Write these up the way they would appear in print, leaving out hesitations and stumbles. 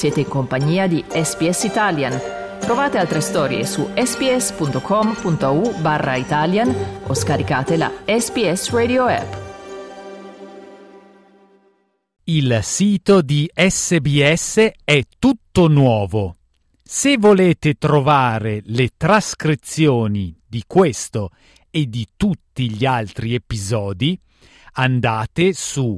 Siete in compagnia di SBS Italian. Trovate altre storie su sbs.com.au/Italian o scaricate la SBS Radio app. Il sito di SBS è tutto nuovo. Se volete trovare le trascrizioni di questo e di tutti gli altri episodi, andate su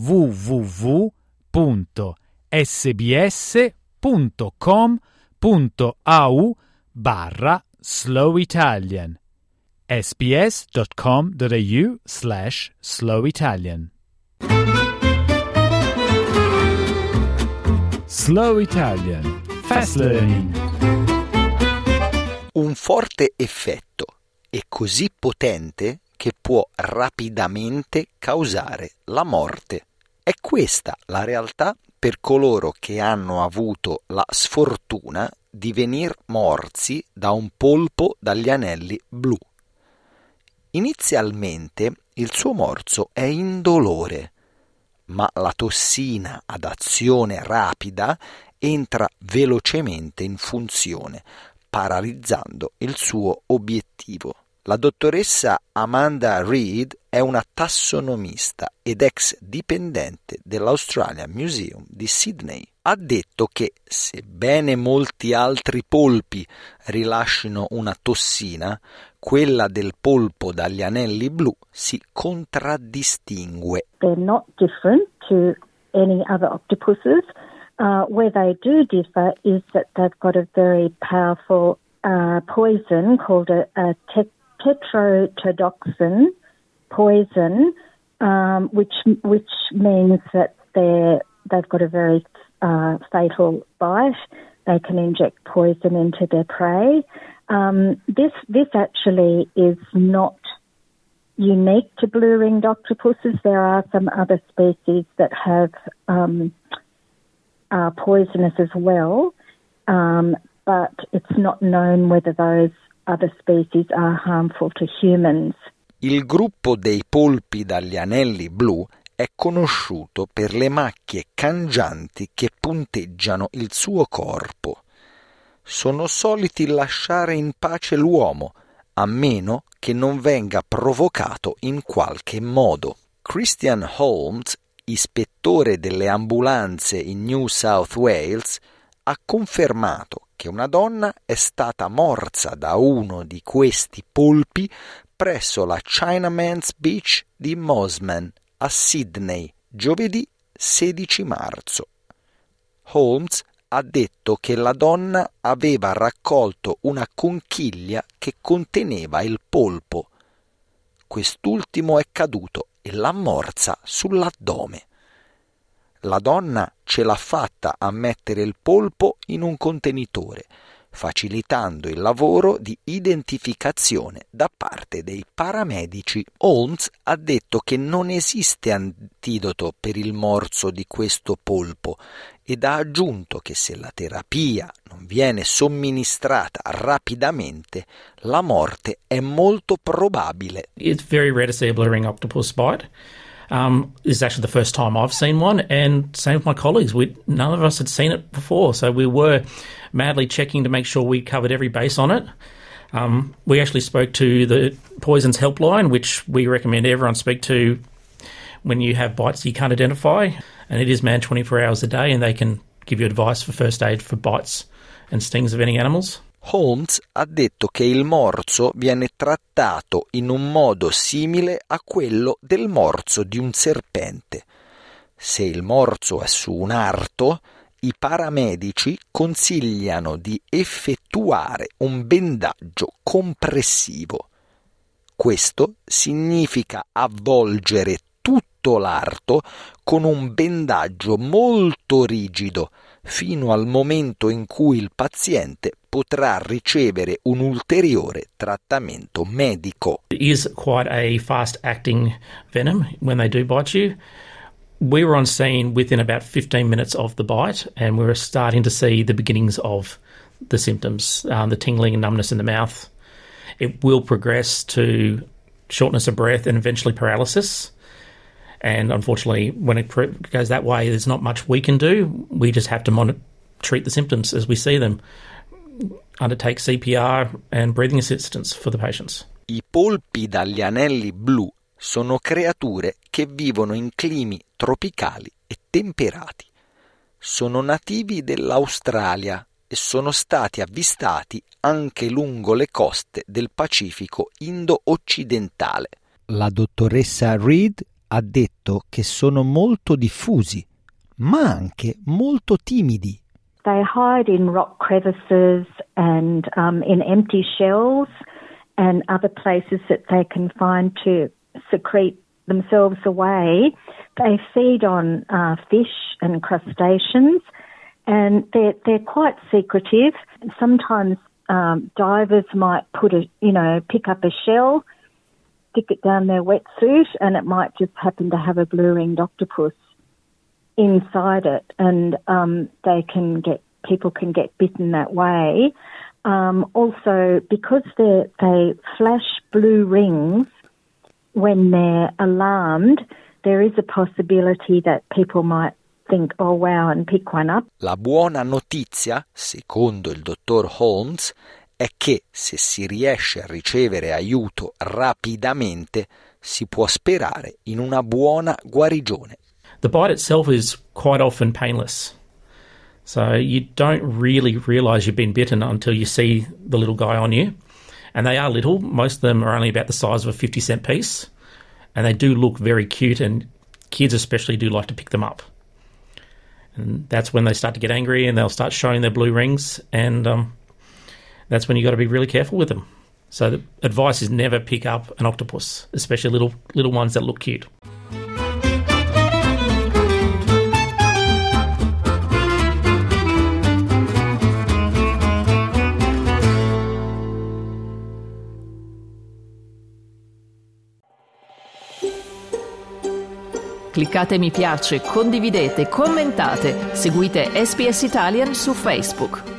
www.sbs.com.au/slowitalian sbs.com.au/slowitalian. Slow Italian. Fast Learning. Un forte effetto è così potente che può rapidamente causare la morte. È questa la realtà per coloro che hanno avuto la sfortuna di venir morsi da un polpo dagli anelli blu. Inizialmente il suo morso è indolore, ma la tossina ad azione rapida entra velocemente in funzione, paralizzando il suo obiettivo. La dottoressa Amanda Reed è una tassonomista ed ex dipendente dell'Australian Museum di Sydney. Ha detto che, sebbene molti altri polpi rilascino una tossina, quella del polpo dagli anelli blu si contraddistingue. They're not different to any other octopuses. Where they do differ is that they've got a very powerful poison called a tetrodotoxin poison, which means that they've got a very fatal bite. They can inject poison into their prey. This actually is not unique to blue-ringed octopuses. There are some other species that have are poisonous as well, but it's not known whether those other species are harmful to humans. Il gruppo dei polpi dagli anelli blu è conosciuto per le macchie cangianti che punteggiano il suo corpo. Sono soliti lasciare in pace l'uomo, a meno che non venga provocato in qualche modo. Christian Holmes, ispettore delle ambulanze in New South Wales, ha confermato che una donna è stata morsa da uno di questi polpi presso la Chinaman's Beach di Mosman a Sydney, giovedì 16 marzo. Holmes ha detto che la donna aveva raccolto una conchiglia che conteneva il polpo. Quest'ultimo è caduto e l'ha morsa sull'addome. La donna ce l'ha fatta a mettere il polpo in un contenitore, facilitando il lavoro di identificazione da parte dei paramedici. Holmes ha detto che non esiste antidoto per il morso di questo polpo ed ha aggiunto che se la terapia non viene somministrata rapidamente, la morte è molto probabile. It's very rare to see a blue-ring octopus bite. This is actually the first time I've seen one, and same with my colleagues. None of us had seen it before, so we were madly checking to make sure we covered every base on it. We actually spoke to the Poisons Helpline, which we recommend everyone speak to when you have bites you can't identify, and it is manned 24 hours a day, and they can give you advice for first aid for bites and stings of any animals. Holmes ha detto che il morso viene trattato in un modo simile a quello del morso di un serpente. Se il morso è su un arto, i paramedici consigliano di effettuare un bendaggio compressivo. Questo significa avvolgere tutto l'arto con un bendaggio molto rigido fino al momento in cui il paziente potrà ricevere un ulteriore trattamento medico. It is quite a fast-acting venom when they do bite you. We were on scene within about 15 minutes of the bite, and we were starting to see the beginnings of the symptoms, the tingling and numbness in the mouth. It will progress to shortness of breath and eventually paralysis. And unfortunately, when it goes that way, there's not much we can do. We just have to treat the symptoms as we see them, undertake CPR and breathing assistance for the patients. I polpi dagli anelli blu sono creature che vivono in climi tropicali e temperati. Sono nativi dell'Australia e sono stati avvistati anche lungo le coste del Pacifico indo-occidentale. La dottoressa Reed ha detto che sono molto diffusi, ma anche molto timidi. They hide in rock crevices and in empty shells and other places that they can find to secrete themselves away. They feed on fish and crustaceans, and they're quite secretive. Sometimes divers might pick up a shell, stick it down their wetsuit, and it might just happen to have a blue-ringed octopus inside it, and people can get bitten that way. Also, because they flash blue rings when they're alarmed, there is a possibility that people might think, oh wow, and pick one up. La buona notizia, secondo il dottor Holmes, è che se si riesce a ricevere aiuto rapidamente si può sperare in una buona guarigione. The bite itself is quite often painless. So you don't really realise you've been bitten until you see the little guy on you. And they are little. Most of them are only about the size of a 50-cent piece. And they do look very cute, and kids especially do like to pick them up. And that's when they start to get angry and they'll start showing their blue rings, and that's when you've got to be really careful with them. So the advice is never pick up an octopus, especially little ones that look cute. Cliccate mi piace, condividete, commentate, seguite SBS Italian su Facebook.